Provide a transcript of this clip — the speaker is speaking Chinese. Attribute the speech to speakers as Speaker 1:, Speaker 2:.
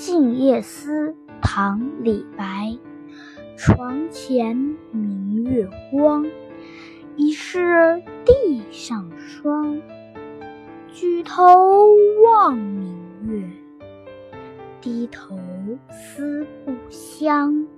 Speaker 1: 静夜思》唐·李白。床前明月光，疑是地上霜。举头望明月，低头思故乡。